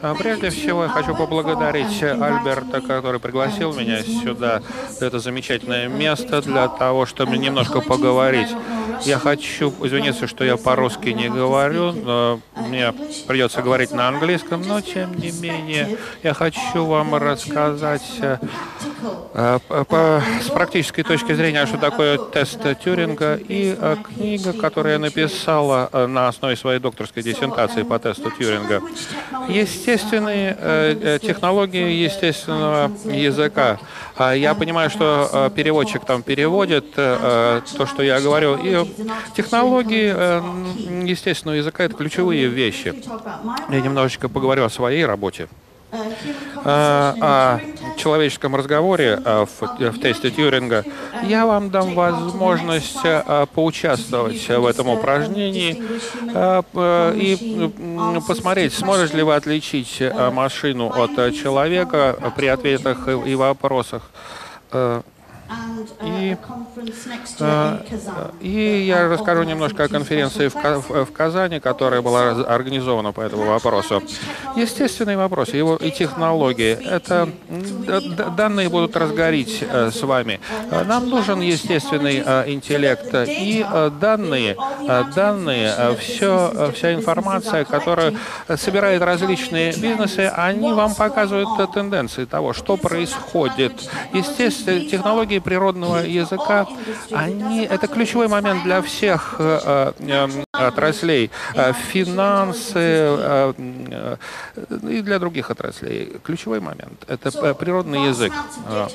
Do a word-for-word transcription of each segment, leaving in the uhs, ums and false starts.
А, Прежде всего, я хочу поблагодарить Альберта, который пригласил меня сюда, в это замечательное место, для того, чтобы немножко поговорить. Я хочу извиниться, что я по-русски не говорю, но мне придется говорить на английском, но, тем не менее, я хочу вам рассказать э, э, по, с практической точки зрения, что такое тест Тьюринга, и э, книга, которую я написала э, на основе своей докторской диссертации по тесту Тьюринга. Естественные э, технологии естественного языка. А Я понимаю, что э, переводчик там переводит э, то, что я говорю. И технологии э, естественного языка — это ключевые вещи. Я немножечко поговорю о своей работе. Э, О человеческом разговоре э, в, в тесте Тьюринга. Я вам дам возможность э, поучаствовать в этом упражнении э, э, и э, посмотреть, сможете ли вы отличить э, машину от э, человека при ответах и, и вопросах. Э, И, э, и я расскажу немножко о конференции в, Ка- в в Казани, которая была раз- организована по этому вопросу. Естественные вопросы, его и технологии. Это м, д- д- данные будут разгорить э, с вами. Э, Нам нужен естественный э, интеллект и э, данные, э, данные, э, все, э, вся информация, которую э, собирают различные бизнесы, они вам показывают э, тенденции того, что происходит. Естественно, технологии природного языка, они, это ключевой момент для всех э, э, отраслей, э, финансы э, э, и для других отраслей. Ключевой момент — это э, природный язык. Э,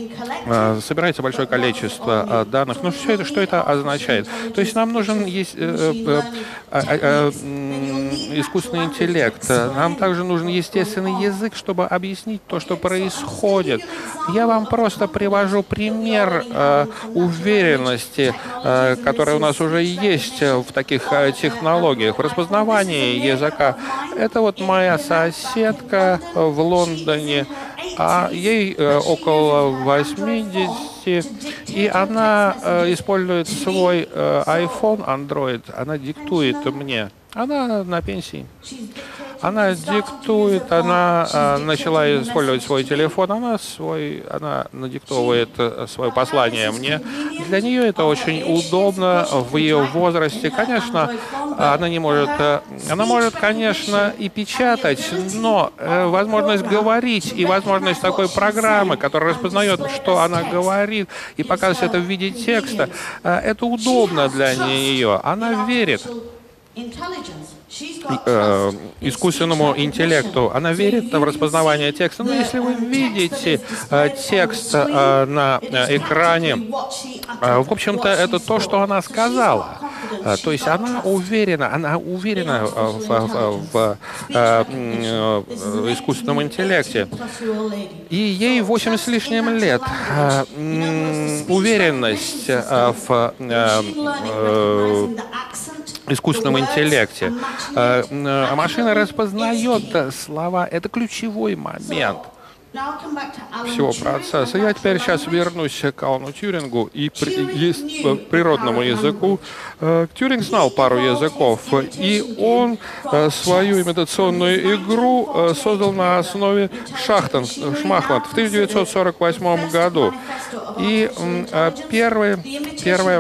э, Собирается большое количество э, данных. Ну, все это, что это означает? То есть нам нужен есть, э, э, э, э, э, искусственный интеллект. Нам также нужен естественный язык, чтобы объяснить то, что происходит. Я вам просто привожу пример э, уверенности, э, которая у нас уже есть в таких э, технологиях. В распознавании языка. Это вот моя соседка в Лондоне, а ей э, около восьмидесяти, и она э, использует свой э, iPhone, Android, она диктует мне. Она на пенсии. Она диктует, она а, начала использовать свой телефон, она свой, она надиктовывает свое послание мне. Для нее это очень удобно в ее возрасте. Конечно, она не может, она может, конечно, и печатать, но э, возможность говорить и возможность такой программы, которая распознает, что она говорит, и показывает это в виде текста, э, это удобно для нее. Она верит э, искусственному интеллекту. Она верит в распознавание текста. Но если вы видите э, текст э, на э, экране, э, в общем-то, это то, что она сказала. Э, то есть она уверена, она уверена э, в, в, в э, э, искусственном интеллекте. И ей восемь с лишним лет. Э, э, уверенность э, в э, э, искусственном интеллекте. А машина распознает слова. Это ключевой момент всего процесса. Я теперь сейчас вернусь к Алану Тьюрингу и при, и, природному языку. Тьюринг знал пару языков, и он свою имитационную игру создал на основе шахтан, шахмат в тысяча девятьсот сорок восьмом году. И первая, первая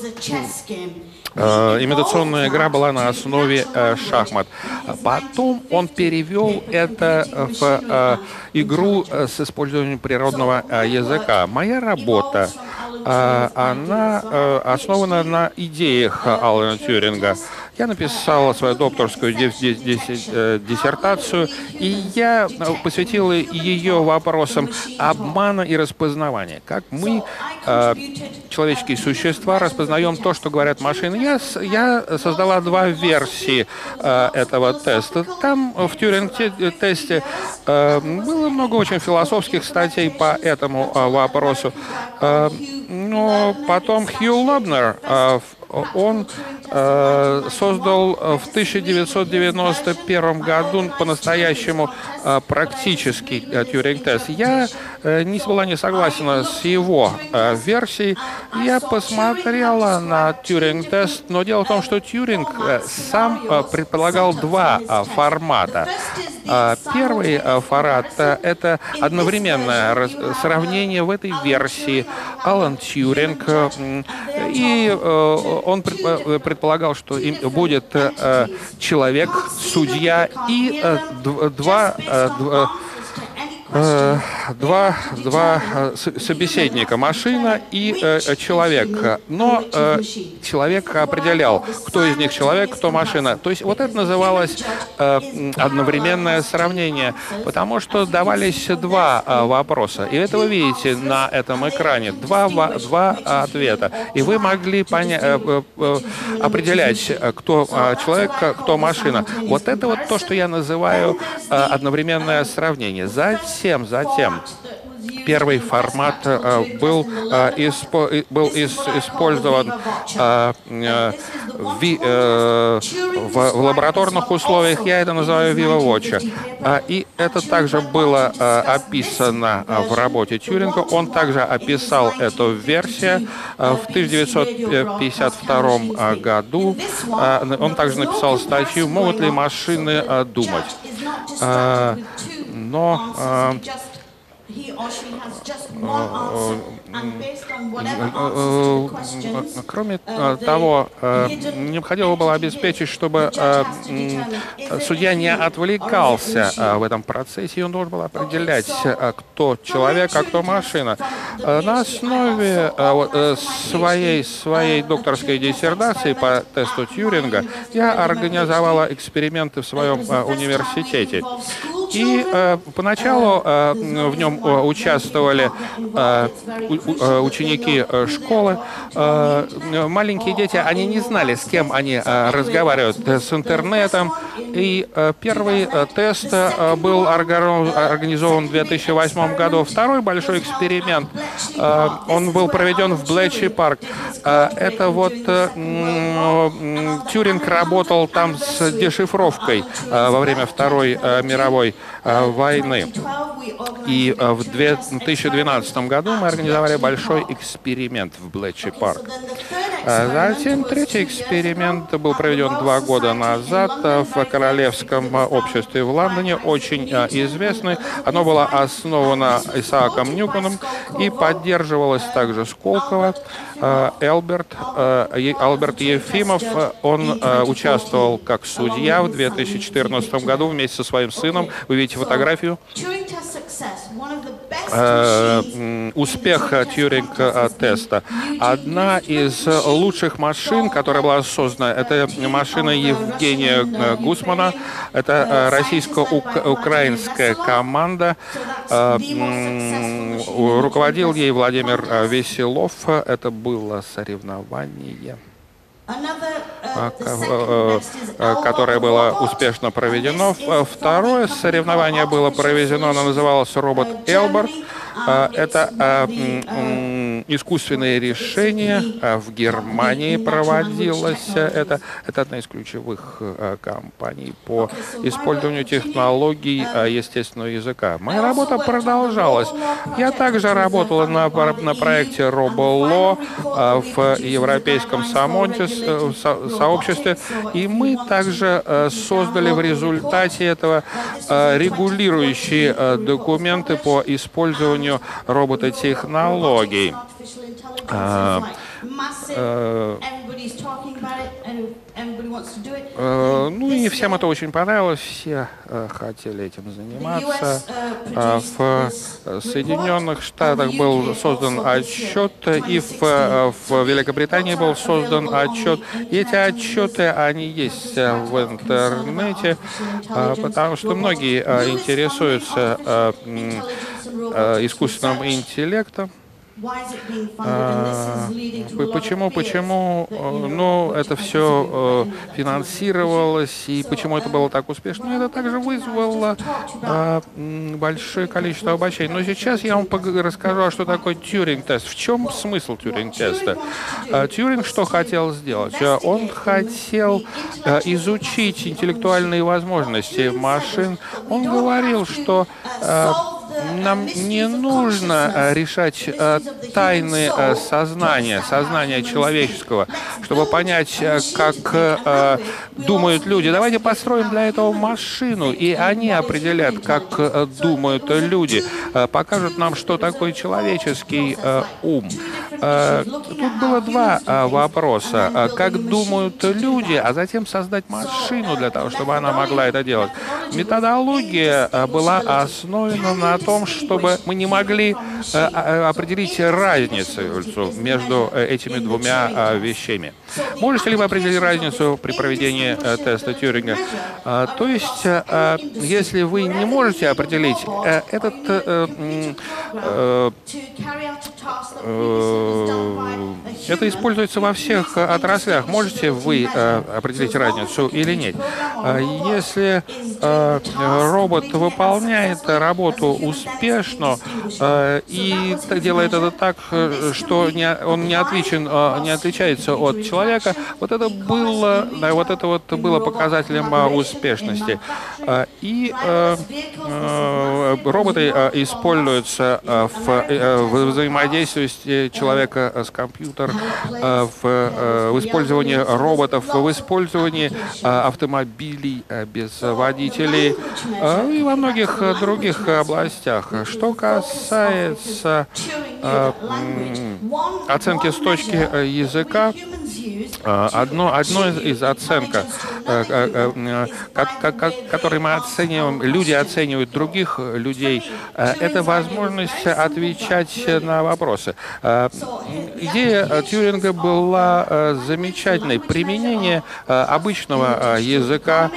Uh, имитационная игра была на основе uh, шахмат. Потом он перевел это в uh, игру uh, с использованием природного uh, языка. Моя работа, uh, она uh, основана на идеях Алана Тьюринга. Я написал свою докторскую диссертацию, и я посвятил ее вопросам обмана и распознавания. Как мы, э, человеческие существа, распознаем то, что говорят машины. Я, я создала два версии э, этого теста. Там в Тьюринг-тесте э, было много очень философских статей по этому э, вопросу. Э, но потом Хью Лобнер, э, он э, создал в тысяча девятьсот девяносто первом году по-настоящему э, практический э, Тьюринг-тест. Я э, не была не согласна с его э, версией. Я посмотрела на Тьюринг-тест, но дело в том, что Тьюринг э, сам э, предполагал два э, формата. Первый формат — это одновременное сравнение в этой версии Алан Тьюринг, и он предполагал, что будет человек, судья и два Два, два собеседника, машина и э, человек. Но э, человек определял, кто из них человек, кто машина. То есть вот это называлось э, одновременное сравнение, потому что давались два э, вопроса. И это вы видите на этом экране. Два, два ответа. И вы могли поня- э, э, определять, кто э, человек, кто машина. Вот это вот то, что я называю э, одновременное сравнение. Затем Затем, затем первый формат э, был, э, испо, был ис, использован э, э, ви, э, в, в лабораторных условиях, я это называю VivaWatch. Э, и это также было э, описано в работе Тьюринга. Он также описал эту версию э, в тысяча девятьсот пятьдесят втором году. Э, он также написал статью «Могут ли машины э, думать?». Э, но э, Кроме того, необходимо было обеспечить, чтобы судья не отвлекался в этом процессе, и он должен был определять, кто человек, а кто машина. На основе своей, своей докторской диссертации по тесту Тьюринга я организовала эксперименты в своем университете. И э, поначалу э, в нем э, участвовали э, у, ученики э, школы. Э, маленькие дети, они не знали, с кем они э, разговаривают, с интернетом. И э, первый э, тест э, был организован в две тысячи восьмом году. Второй большой эксперимент, э, он был проведен в Блэчли парк. Э, это вот э, э, Тьюринг работал там с дешифровкой э, во время Второй э, мировой войны. И в две тысячи двенадцатом году мы организовали большой эксперимент в Блэчли парк. Затем третий эксперимент был проведен два года назад в Королевском обществе в Лондоне, очень известный. Оно было основано Исааком Ньютоном и поддерживалось также Сколково. Элберт, Альберт Ефимов, он участвовал как судья в две тысячи четырнадцатом году вместе со своим сыном. Вы видите фотографию. Успех Тьюринг-теста. Одна из лучших машин, которая была создана, это машина Евгения Гусмана. Это российско-украинская команда. Руководил ей Владимир Веселов. Это было соревнование, которое было успешно проведено. Второе соревнование было проведено, оно называлось «Робот Элберт». Это искусственное решение в Германии проводилось. Это, это одна из ключевых компаний по использованию технологий естественного языка. Моя работа продолжалась. Я также работала на, на проекте RoboLaw в Европейском сообществе, и мы также создали в результате этого регулирующие документы по использованию робототехнологий. Uh, uh, uh, ну и всем это очень понравилось, все uh, хотели этим заниматься. Uh, в Соединенных Штатах был создан отчет, и в, uh, в Великобритании был создан отчет. И эти отчеты, они есть uh, в интернете, uh, потому что многие uh, интересуются uh, uh, искусственным интеллектом. А, почему, почему, ну, это все финансировалось, и почему это было так успешно? Это также вызвало а, большое количество обобщений. Но сейчас я вам расскажу, что такое Тьюринг-тест. В чем смысл Тьюринг-теста? А, Тьюринг что хотел сделать? Он хотел а, изучить интеллектуальные возможности машин. Он говорил, что а, Нам не нужно решать тайны сознания, сознания человеческого, чтобы понять, как думают люди. Давайте построим для этого машину, и они определят, как думают люди, покажут нам, что такое человеческий ум. Тут было два вопроса. Как думают люди, а затем создать машину для того, чтобы она могла это делать. Методология была основана на том, чтобы мы не могли определить разницу между этими двумя вещами. Можете ли вы определить разницу при проведении теста Тьюринга? То есть, если вы не можете определить этот это используется во всех отраслях. Можете вы определить разницу или нет? Если робот выполняет работу успешно и делает это так, что он не отличен, не отличается от человека, вот это было, вот это вот было показателем успешности. И роботы используются в взаимодействии человека с компьютером, в использовании роботов, в использовании автомобилей без водителей и во многих других областях. Что касается оценки с точки языка, Одно, одно из оценок, которые мы оцениваем, люди оценивают других людей, это возможность отвечать на вопросы. Идея Тьюринга была замечательной. Применение обычного языка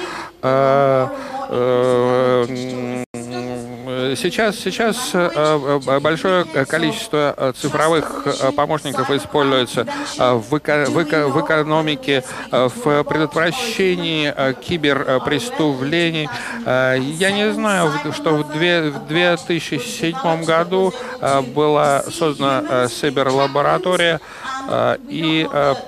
Сейчас, сейчас большое количество цифровых помощников используется в, эко, в, эко, в экономике, в предотвращении киберпреступлений. Я не знаю, что в две тысячи седьмом году была создана Cyber-лаборатория, и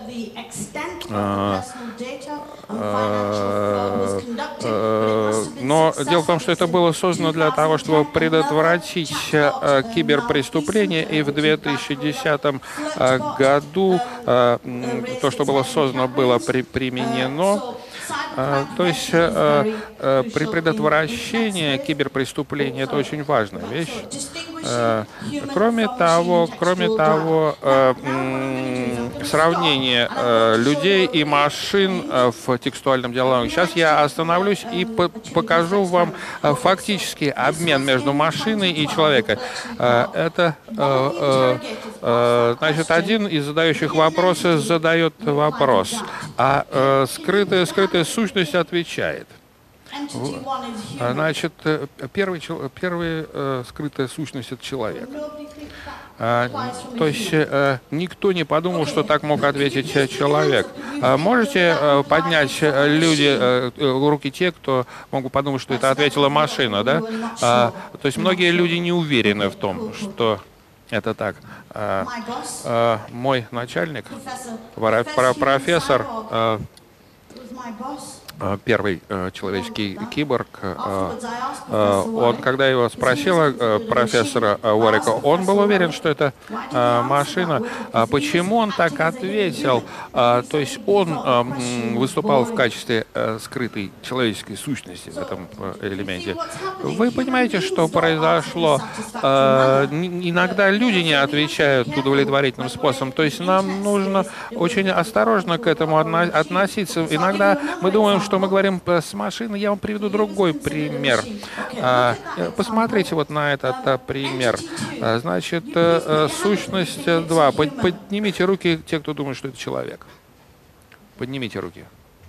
но дело в том, что это было создано для того, чтобы предотвратить киберпреступления, и в две тысячи десятом году то, что было создано, было при, применено. То есть при предотвращении киберпреступления это очень важная вещь. Кроме того, кроме того, сравнение людей и машин в текстуальном диалоге. Сейчас я остановлюсь и покажу вам фактический обмен между машиной и человеком. Это, значит, один из задающих вопросы задает вопрос, а скрытая, скрытая сущность отвечает. Значит, первый, первый э, скрытая сущность — это человек. А, то есть э, никто не подумал, что так мог ответить человек. А можете э, поднять люди, э, руки те, кто могут подумать, что это ответила машина, да? А, то есть многие люди не уверены в том, что это так. А, а, мой начальник, профессор, а, первый э, человеческий киборг, э, э, он, когда его спросила э, профессора Уорика, он был уверен, что это э, машина. А почему он так ответил? А, то есть он э, выступал в качестве э, скрытой человеческой сущности в этом э, элементе. Вы понимаете, что произошло? Э, иногда люди не отвечают удовлетворительным способом. То есть нам нужно очень осторожно к этому относиться. Иногда мы думаем, что мы говорим с машиной. Я вам приведу другой пример. Посмотрите вот на этот пример. Значит, сущность два. Поднимите руки, те, кто думает, что это человек. Поднимите руки.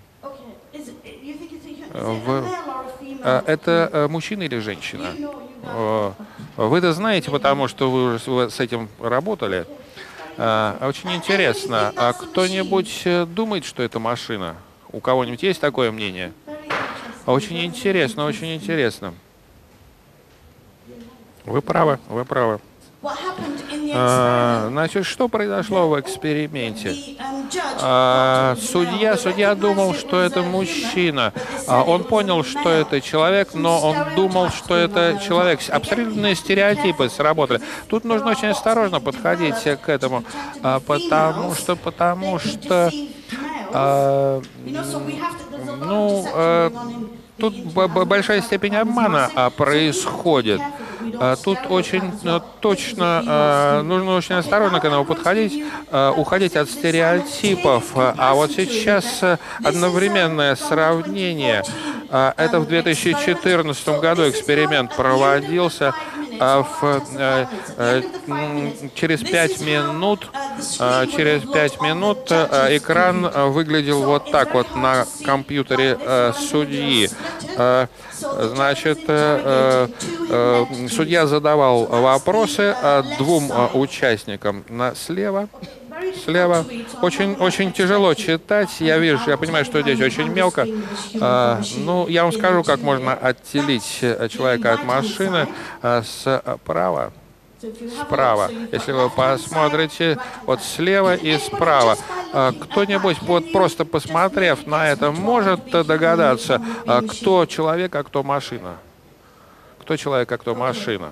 Это мужчина или женщина? Вы это знаете, потому что вы уже с этим работали. Очень интересно. А кто-нибудь думает, что это машина? У кого-нибудь есть такое мнение? Очень интересно, очень интересно. Вы правы, вы правы. А, значит, что произошло в эксперименте? А, судья, судья думал, что это мужчина. А, он понял, что это человек, но он думал, что это человек. Абсолютные стереотипы сработали. Тут нужно очень осторожно подходить к этому, а, потому что, потому что, а, ну, а, тут большая степень обмана а, происходит. А, тут очень а, точно а, нужно очень осторожно к этому подходить, а, уходить от стереотипов. А вот сейчас одновременное сравнение. А, это в две тысячи четырнадцатом году эксперимент проводился. А в, а, а, через пять минут, а, через пять минут а, экран выглядел вот так вот на компьютере а, судьи. А, значит, а, а, судья задавал вопросы а, двум а, участникам. На, слева. Слева. Очень, очень тяжело читать. Я вижу, я понимаю, что здесь очень мелко. А, ну, я вам скажу, как можно отделить человека от машины а, справа. Справа. Если вы посмотрите вот слева и справа. А, кто-нибудь, вот просто посмотрев на это, может догадаться, а, кто человек, а кто машина? Кто человек, а кто машина?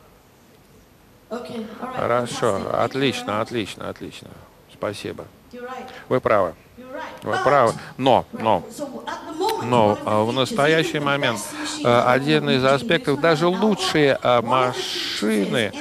Хорошо, отлично, отлично, отлично. Спасибо. Вы правы. Вы правы. Но, но, но в настоящий момент один из аспектов, даже лучшие машины,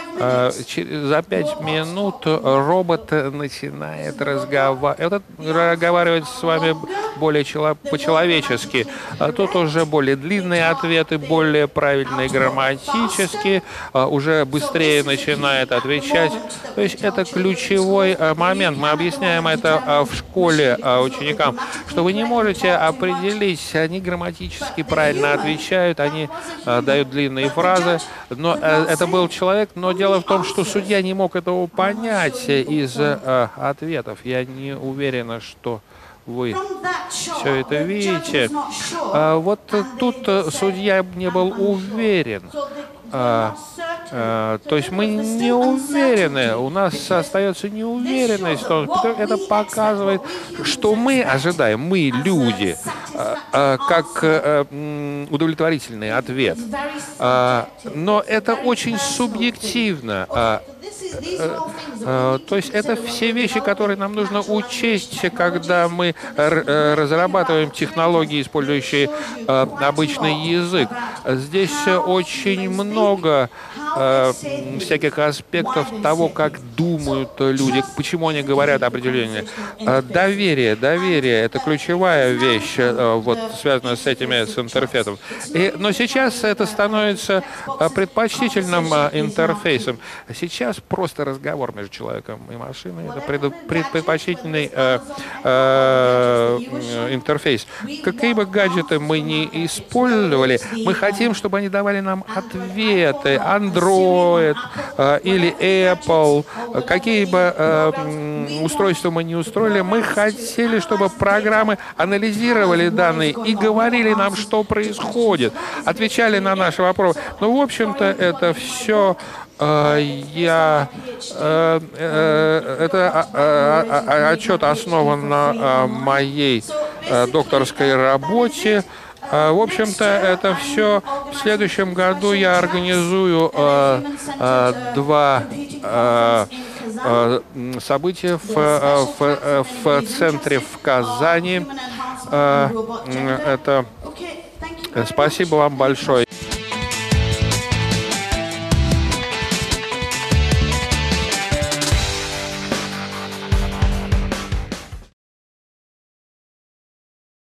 за пять минут робот начинает разговаривать, разговаривать с вами более по-человечески. А тут уже более длинные ответы, более правильные грамматически, уже быстрее начинает отвечать. То есть это ключевой момент. Мы объясняем это в школе ученикам, что вы не можете определить, они грамматически правильно отвечают, они дают длинные фразы, но это был человек, но дело в том, что судья не мог этого понять из э, ответов. Я не уверена, что вы все это видите. А, вот тут судья не был уверен. А, а, то есть мы не уверены, у нас остается неуверенность. Это показывает, что мы ожидаем, мы люди, а, а, как а, удовлетворительный ответ. А, но это очень субъективно. А, то есть это все вещи, которые нам нужно учесть, когда мы разрабатываем технологии, использующие обычный язык. Здесь очень много всяких аспектов того, как думают люди, почему они говорят определение. Доверие, доверие — это ключевая вещь, вот, связанная с этими, с интерфейсом. И, но сейчас это становится предпочтительным интерфейсом. Сейчас просто разговор между человеком и машиной — это пред, предпочтительный э, э, интерфейс. Какие бы гаджеты мы ни использовали, мы хотим, чтобы они давали нам ответы. Android э, или Apple, какие бы э, устройства мы не устроили, мы хотели, чтобы программы анализировали данные и говорили нам, что происходит, отвечали на наши вопросы. Ну, в общем-то, это все я, э, э, это э, э, отчет основан на э, моей э, докторской работе. В общем-то, это все. В следующем году я организую э, э, два э, э, события в, в, в центре в Казани. Э, это спасибо вам большое.